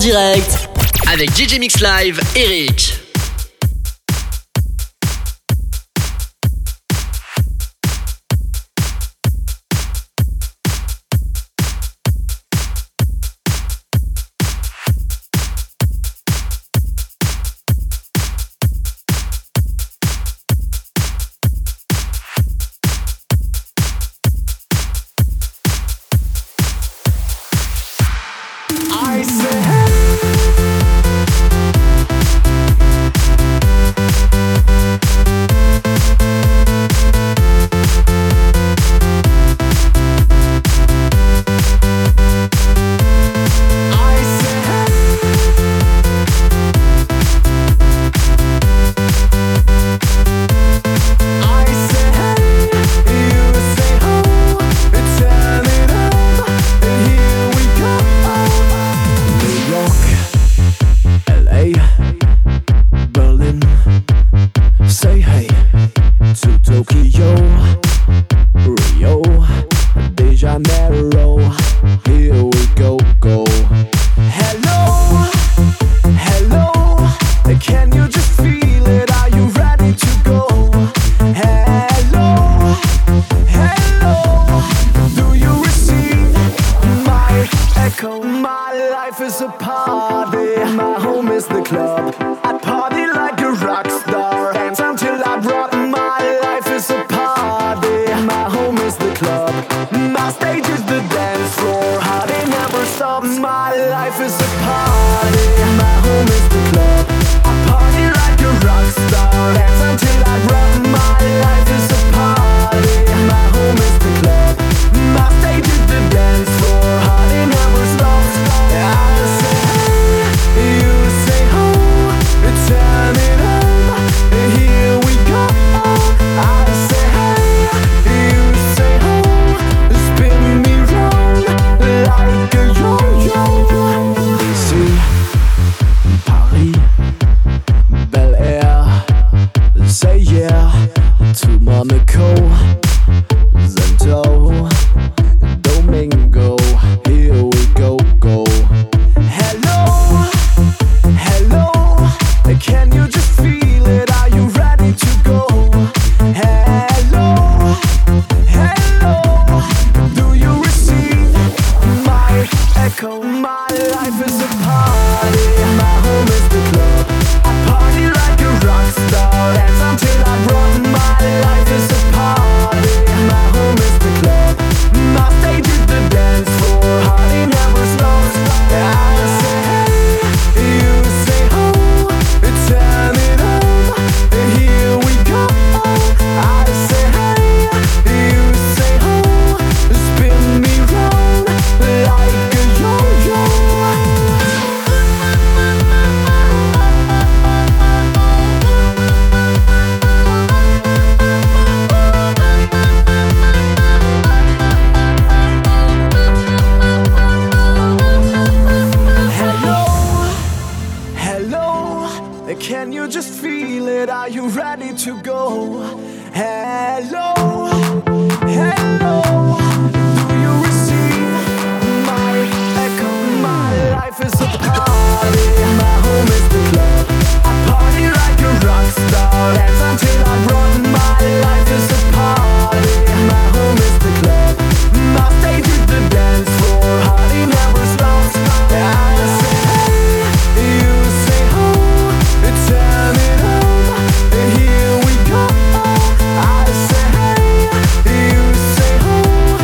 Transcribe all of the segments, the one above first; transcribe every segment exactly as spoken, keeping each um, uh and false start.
direct avec D J Mix Live, Eric. Here we go. I say, hey, you say, oh.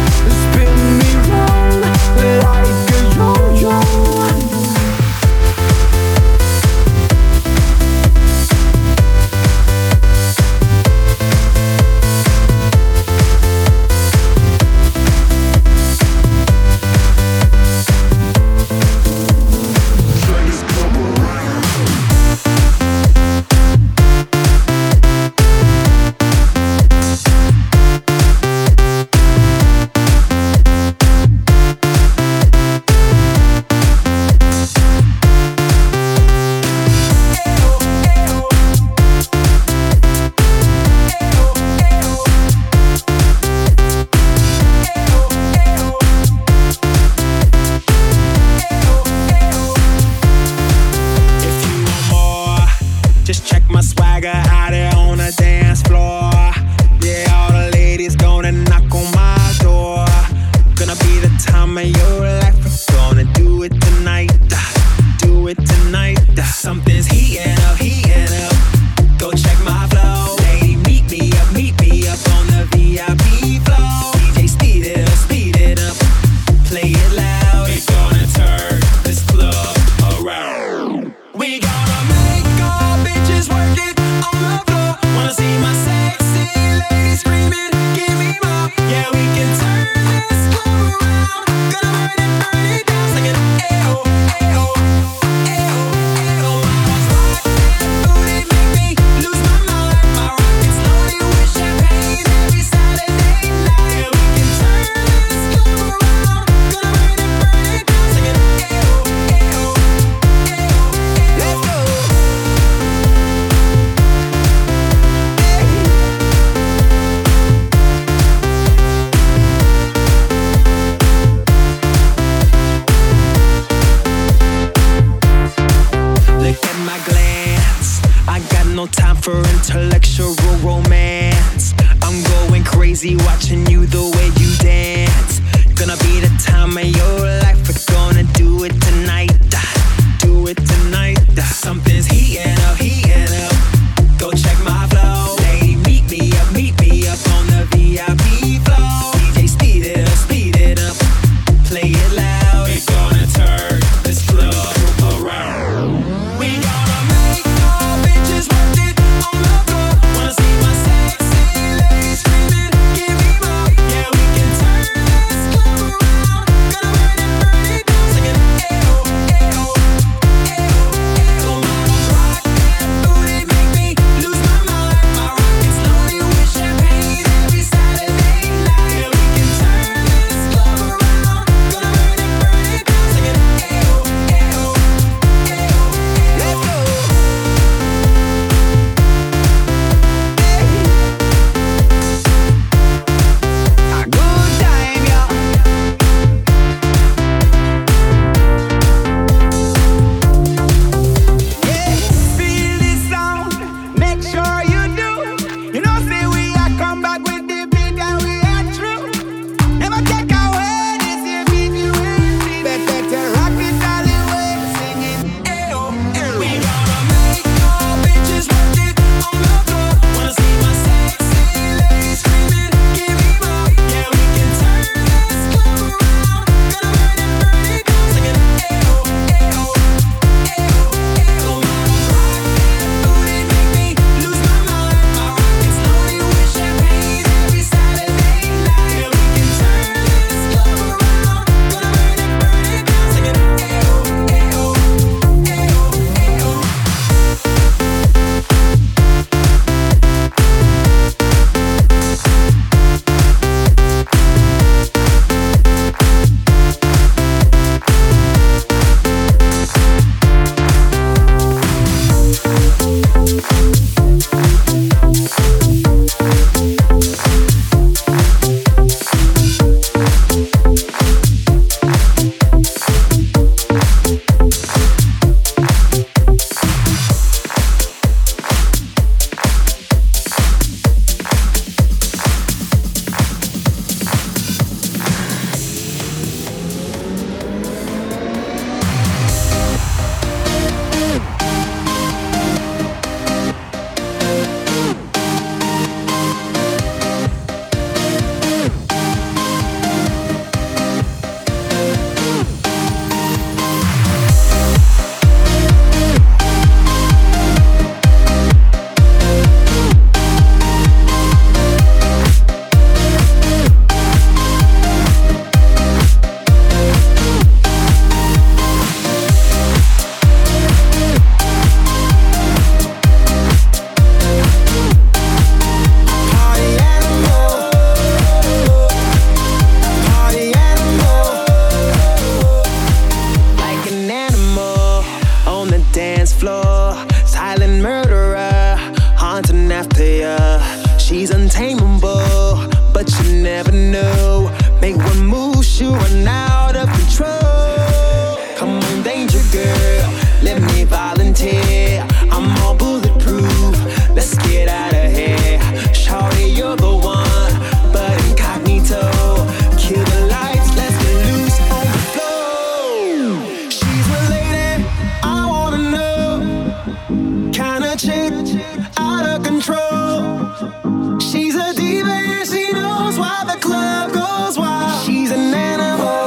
dance floor. Silent murderer, haunting after ya. She's untamable, but you never know. Make one move, she'll run out of control. Come on, danger girl, let me volunteer. I'm all bulletproof, let's get out of here. Shawty, you're the one, but incognito. Kill the lights, let's get loose on the floor. She's my lady, I wanna know. Kinda chick, out of control. She's a diva and she knows why the club goes wild. She's an animal.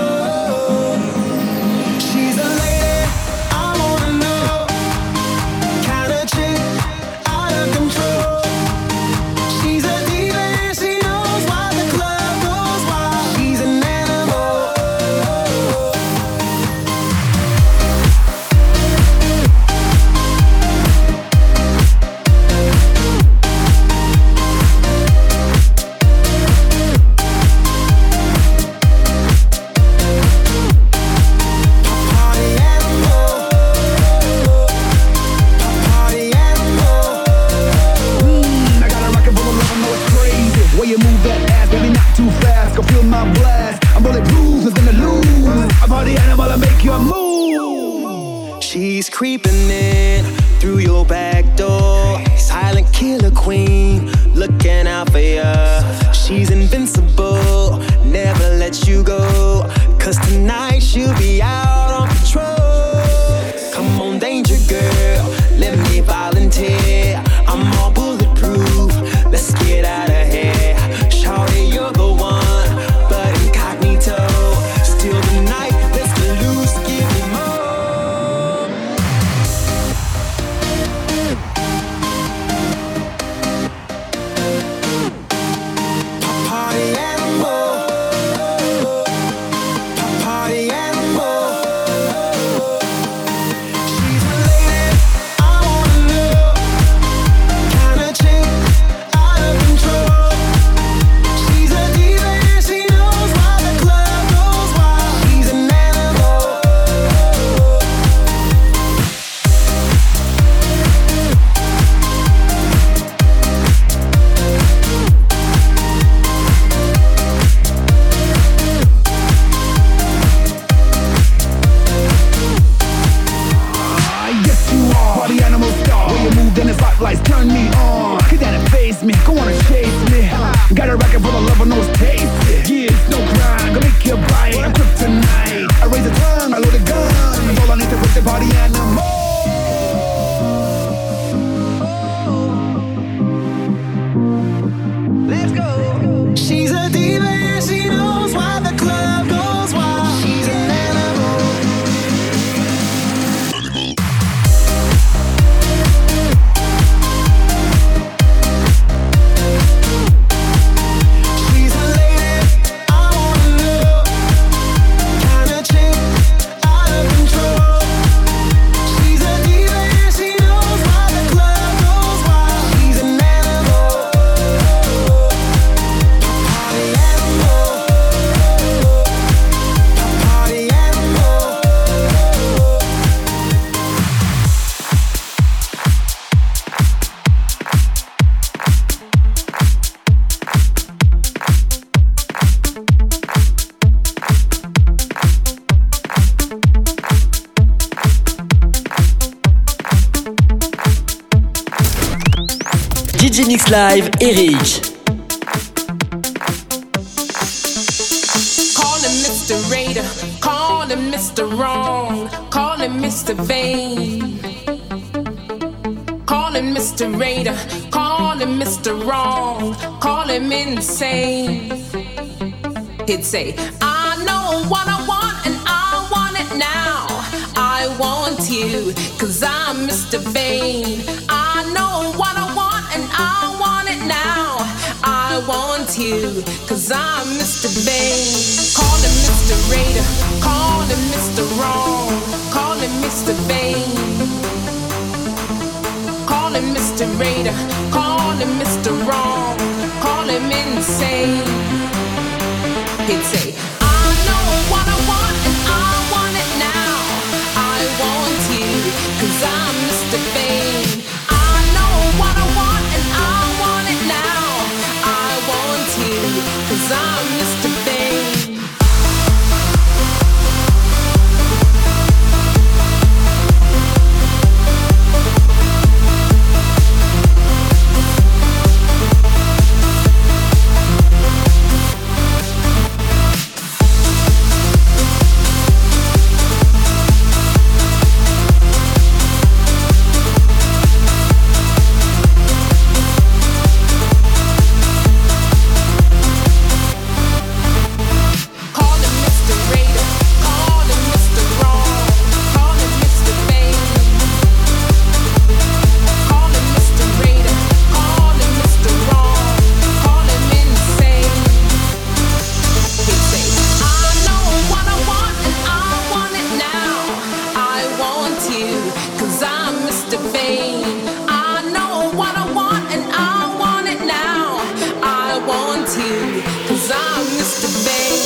She's a lady, I wanna know. Kinda chick, out of control. She's a diva and she knows why the club goes wild. She's an animal. Party animal. Party animal. Mm, I got a rocket full of love, I know it's crazy. Way you move that ass, baby, not too fast. Go feel my blast. I'm bulletproof, nothing to lose. I'm party animal, I make you move. She's creeping in through your back door. Silent killer queen, looking out for ya. She's invincible, never let you go. Cause tonight she'll be out on patrol. Come on, danger girl, let me volunteer. I'm all bulletproof, let's get out of here. Shawty, you're the one, but incognito. Still the night, let's get loose, give me more. Party animal. Party animal. She's my lady, I wanna know. Kinda chick, out of control. She's a diva and she knows why the club goes wild. She's an animal. Ah, yes you are. Party animal star. When you move, then the spotlights turn me on. Get down and face me, go on and chase me. Got a racket full of love, I know it's tasty. Yeah, it's no crime, gonna make you bite. I'm kryptonite. I raise a tongue, I load a gun. That's all I need to break the party animal. Let's go. She's a diva and she knows why the club goes wild. She's an animal. She's a lady, I wanna know. Kinda chick, out of control. She's a diva and she knows why the club goes wild. She's an animal. Party animal. Party animal. D J Mix Live, Eric. Call him Mister Raider, call him Mister Wrong, call him Mister Vain. Call him Mister Raider, call him Mister Wrong, call him insane. He'd say, I know what I want and I want it now. I want you, cause I'm Mister Vain. I know what I want and I want it now. I want you, cause I'm Mister Vain. Call him Mister Raider, call him Mister Wrong, call him Mister Vain. Call him Mister Raider, call him Mister Wrong, call him insane. He'd say, I know what I want and I want it now. I want you, you, 'cause I'm Mister Vain. I know what I want and I want it now. I want you, 'cause I'm Mister Vain.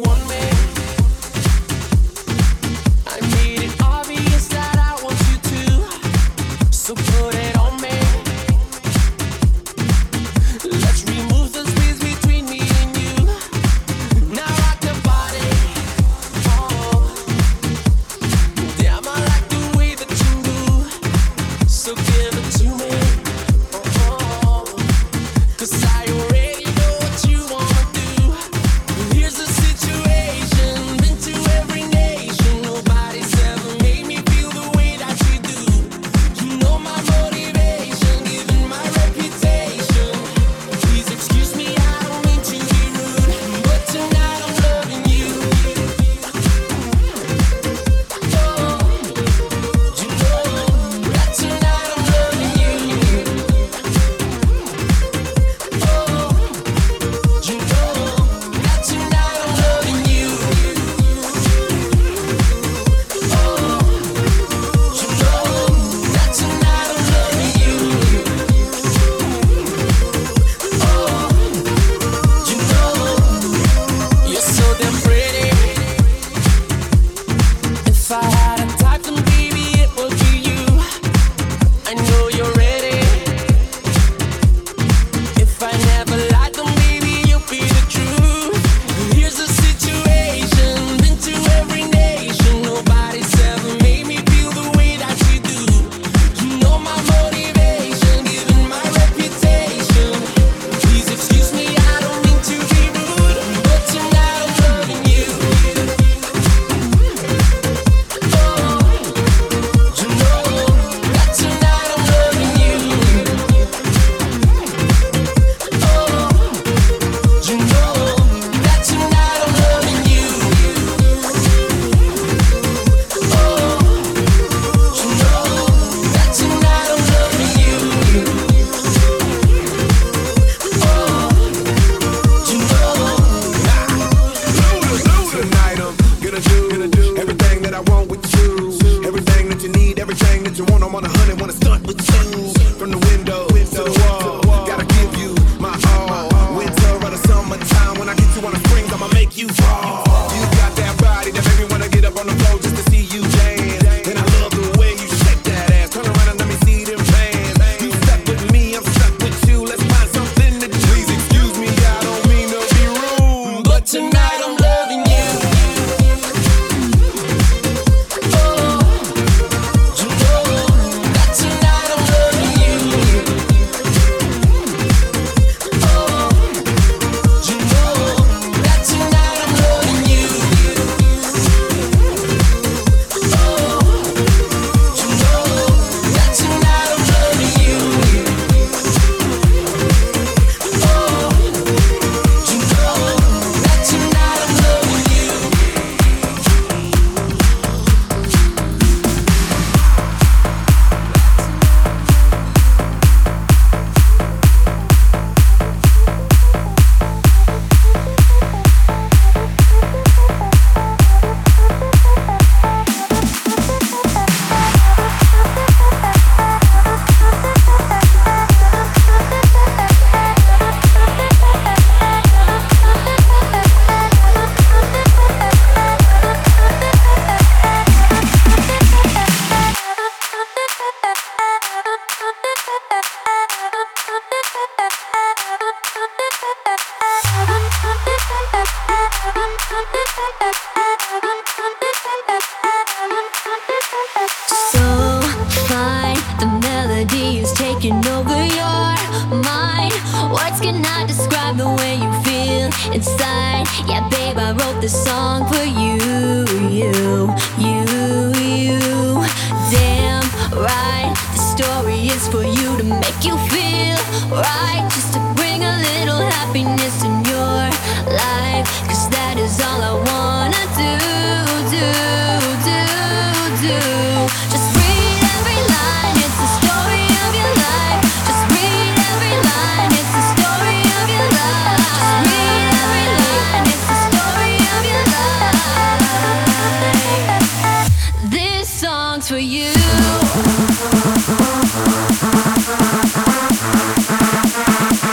want me. I made it obvious that I want you to, so put it on me. Let's remove the space between me and you. Now rock the body. Oh, damn, I like the way that you move. So give it to me. Oh, 'cause I already know what you wanna do. Here's the situation. Been to every nation. Nobody's ever made me feel the way that you do. You know my motivation, even my reputation. Please excuse me, I don't mean to be rude, but tonight I'm loving you. Oh, you know that tonight I'm loving you. Oh, you know that tonight I'm loving you. Oh, you know that tonight I'm loving you. Oh, you know you're so damn pretty. If I had a type, then baby it would be you. I know you're ready. If I never lied, then baby you'll be the truth. Here's the situation. Been to every nation. Nobody's ever made me feel the way that you do. You know my motivation, even my reputation. Please excuse me, I don't mean to be rude, but tonight I'm loving you. Oh, you know that tonight I'm loving you. Oh, you know that tonight I'm loving you. Oh, you know that tonight I'm loving you. Oh, you know. Tonight I'm gonna do, gonna do everything that I want with you. Everything that you need, everything that you want. I'm on a hundred, wanna start with you. From the window to the wall, gotta give you my all. Winter or the summertime, when I get you on the springs, I'ma make you fall. You got that body that make me wanna get up on the floor just to see you dance. And I love the way you shake that ass. Turn around and let me see them pants. You stuck with me, I'm stuck with you. Let's find something to do. Please excuse me, I don't mean to be rude, But tonight I'm loving you. Oh, you know that tonight I'm loving you. Oh, you know that tonight I'm loving you. Oh, you know that tonight I'm loving you. Oh, you know that tonight I'm loving you. So fine, the melody is taking over your mind. Words cannot describe the way you feel inside. Yeah, babe, I wrote this song for you, you, you, you. Damn right, the story is for you to make you feel right, just to bring a little happiness in your life. 'Cause that is all I wanna do, do, do, do. Just read every line, it's the story of your life. Just read every line, it's the story of your life. Just read every line, it's the story of your life. This song's for you.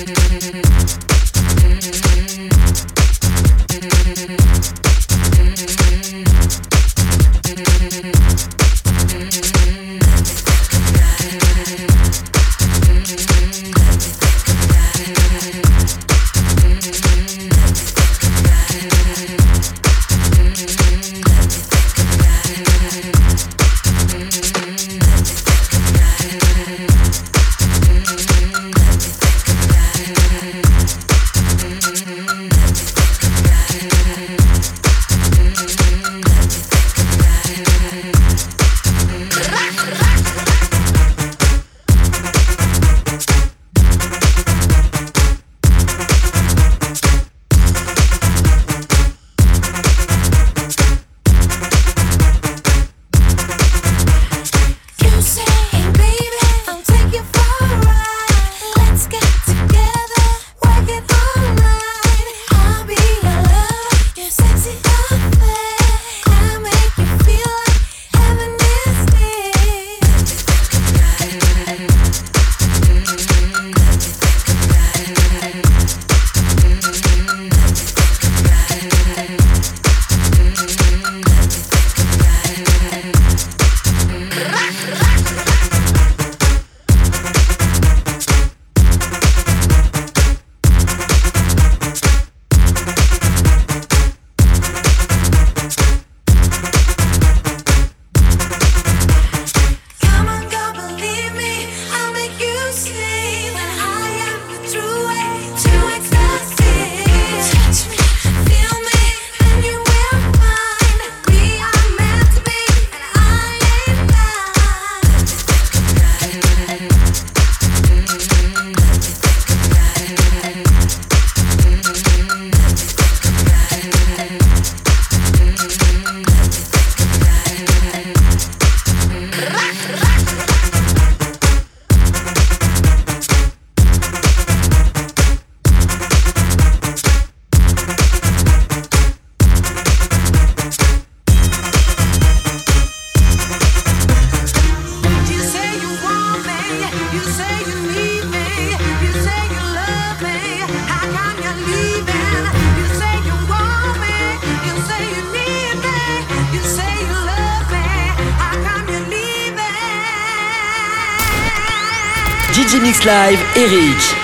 D J Mix Live, Eric.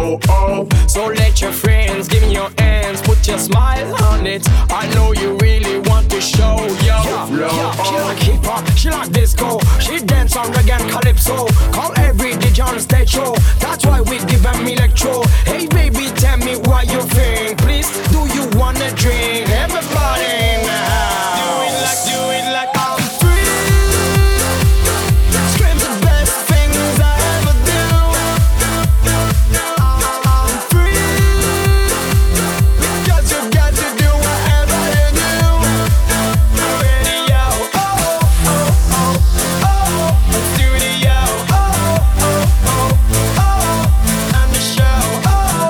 flow. Oh, so let your friends give me your hands, put your smile on it. I know you really want to show your flow. Yeah, she like hip hop, she like disco, she dance on reggae and calypso. Call every D J on the stage show. That's why we give them electro. Hey baby, tell me what you think. Please, do you wanna drink? Everybody in the house, do it like, do it like I'm free. Scream the best things I ever do. I'm free because you got to do whatever you do. Radio, oh oh oh oh, studio, oh oh oh oh, and the show, oh.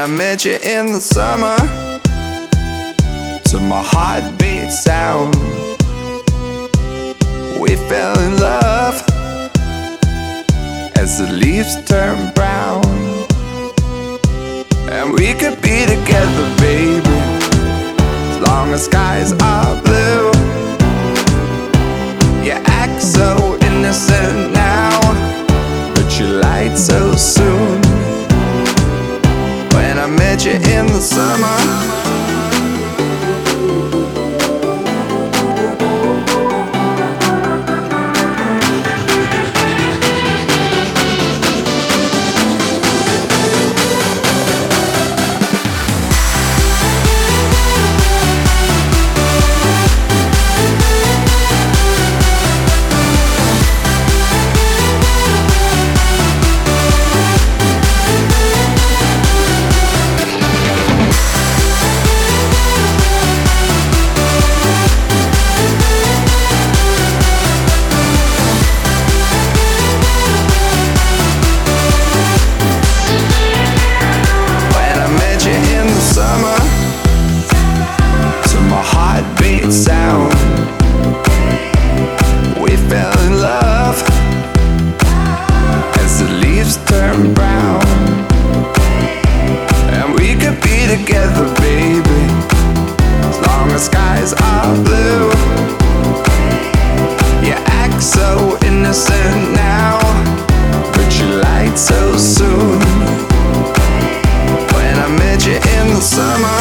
I met you in the summer, to my heartbeat sound, we fell in love as the leaves turn brown. And we could be together, baby, as long as skies are blue. You act so innocent now, but you lied so soon. When I met you in the summer, sound, we fell in love as the leaves turn brown. And we could be together, baby, as long as skies are blue. You act so innocent now, but you lied so soon. When I met you in the summer,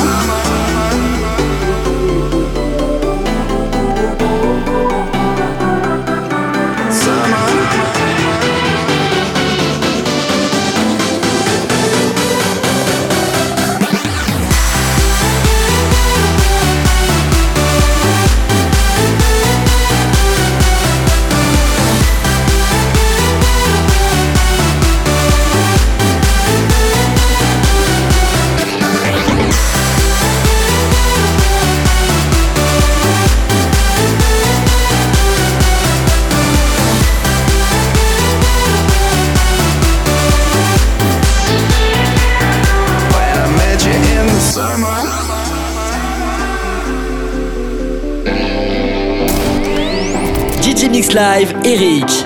D J Mix Live, Eric.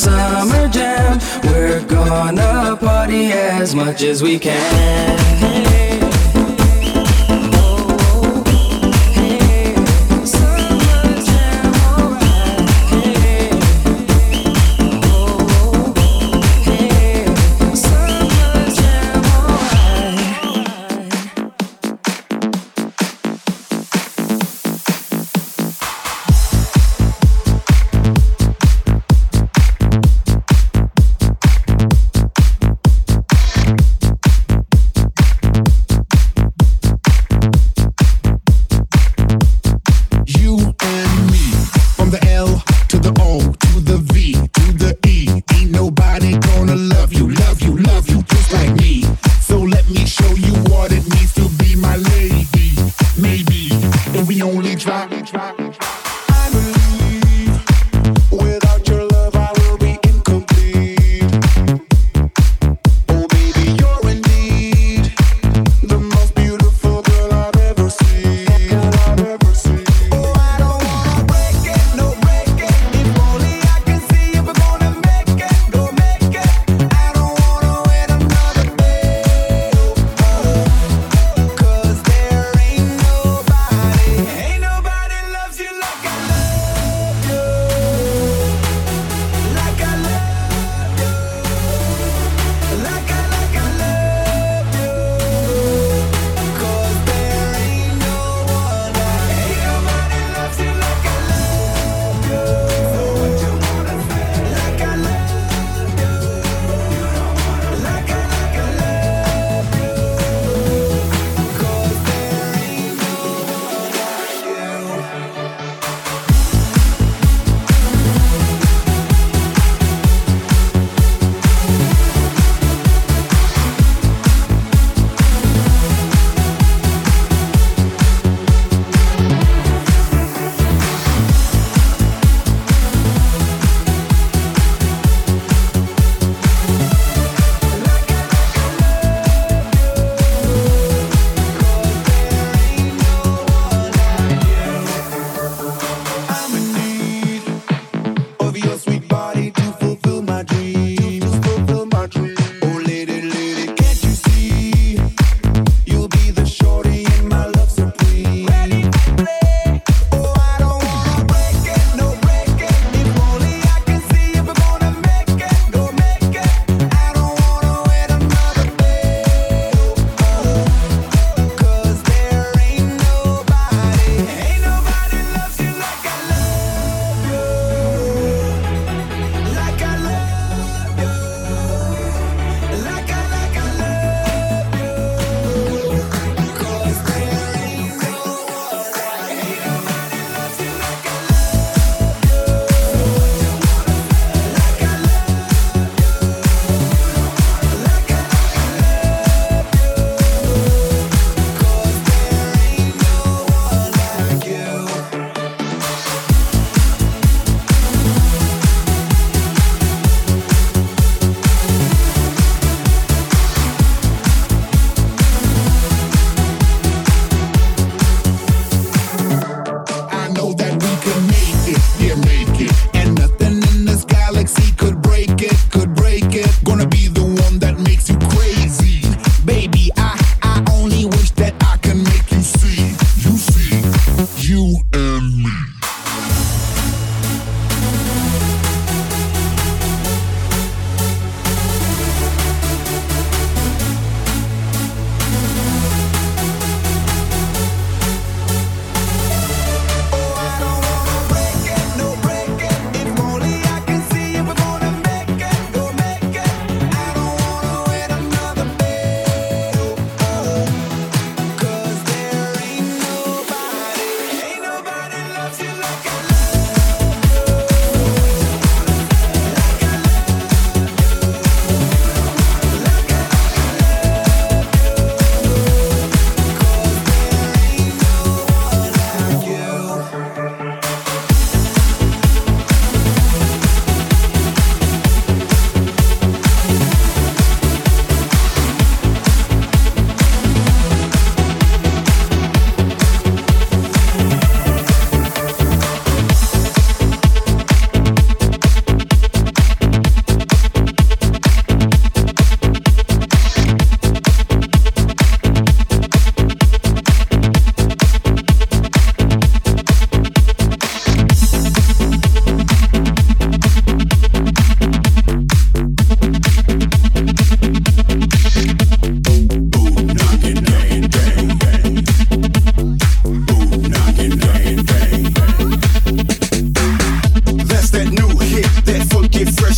summer jam. We're gonna party as much as we can.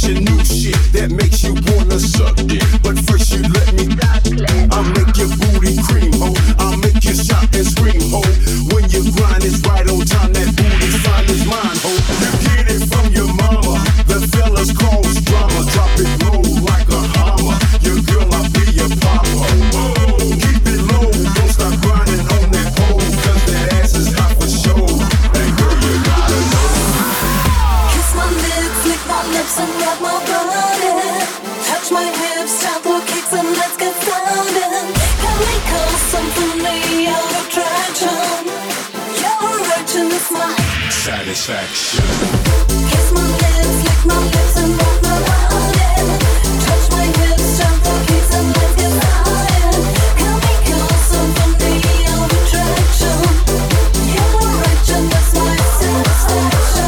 fashion, new shit that makes you wanna suck it. But first you let me, I'll make your booty cream, ho. I'll make you shout and scream, ho. When your grind is right on time, that booty sign is mine, ho. You get it from your mama, the fellas cause drama. Drop it low like a hammer. Your girl, I'll be your papa. Oh, keep it low, don't stop grinding on that pole, cause that ass is hot for show. And girl, you gotta know. Kiss my lips, lick my lips and rub my body. Touch my hips, tap or kicks and let's get started. Can we call something me out of attraction? Your erection is my satisfaction. Kiss my lips, lick my lips and rub my body. Touch my hips, tap or kicks and let's get started. Can we call something me out of attraction? Your erection is my satisfaction.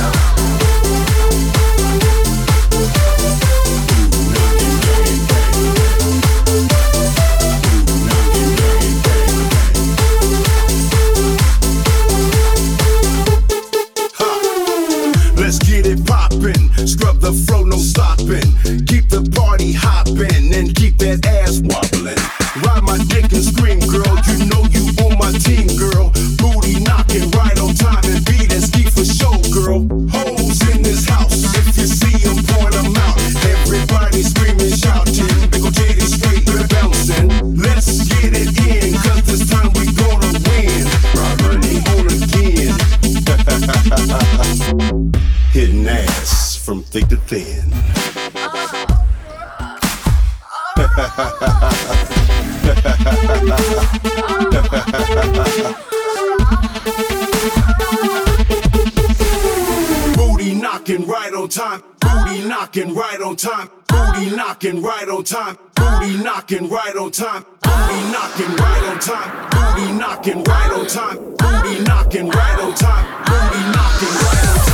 Let's get it poppin', scrub the flow, no stoppin'. Keep the party hoppin' and keep that ass wobblin'. Ride my dick and scream, girl, you know you on my team, girl. Booty knockin' right on time and beat and ski for show, girl. Hoes in this house, if you see them, point them out. Everybody screamin', shoutin', big ol' titty straight, we're bouncin'. Let's get it in, cause this time we gonna win. Robbery on again. Hitting ass from thick to thin. Booty knocking right on time. Booty knocking right on time. Booty knocking right on time. Booty knocking right on time. Booty knocking right on time. Booty knocking right on time. Booty knocking right on time. Booty knocking right on time.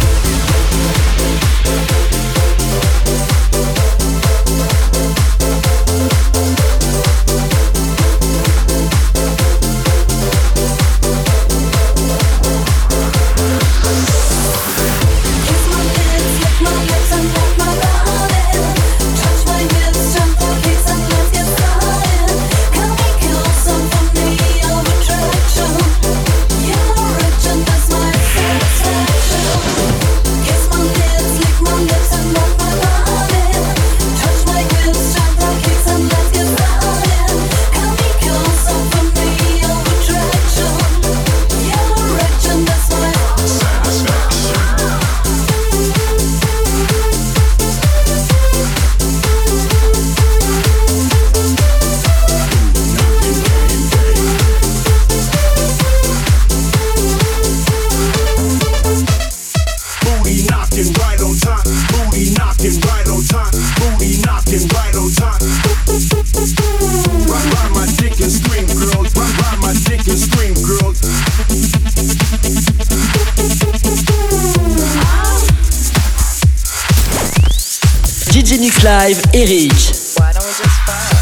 D J Mix Live, Eric. Why don't we just fuck?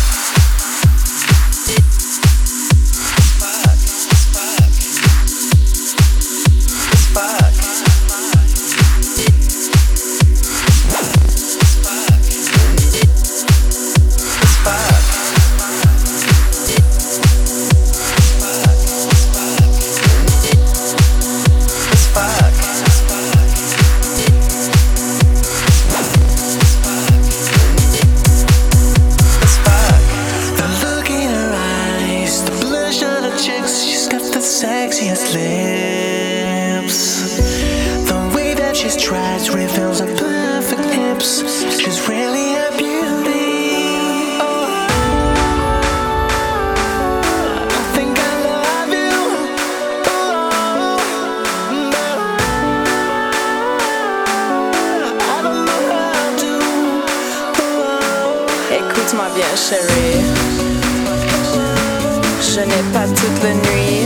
Écoute-moi bien, chérie. Je n'ai pas toute la nuit.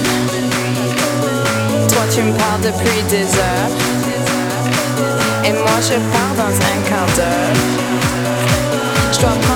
Toi, tu me parles depuis des heures. Et moi, je pars dans un quart d'heure. Je dois